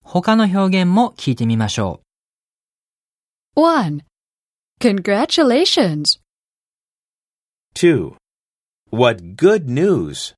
他の表現も聞いてみましょう。1. Congratulations. 2. What good news!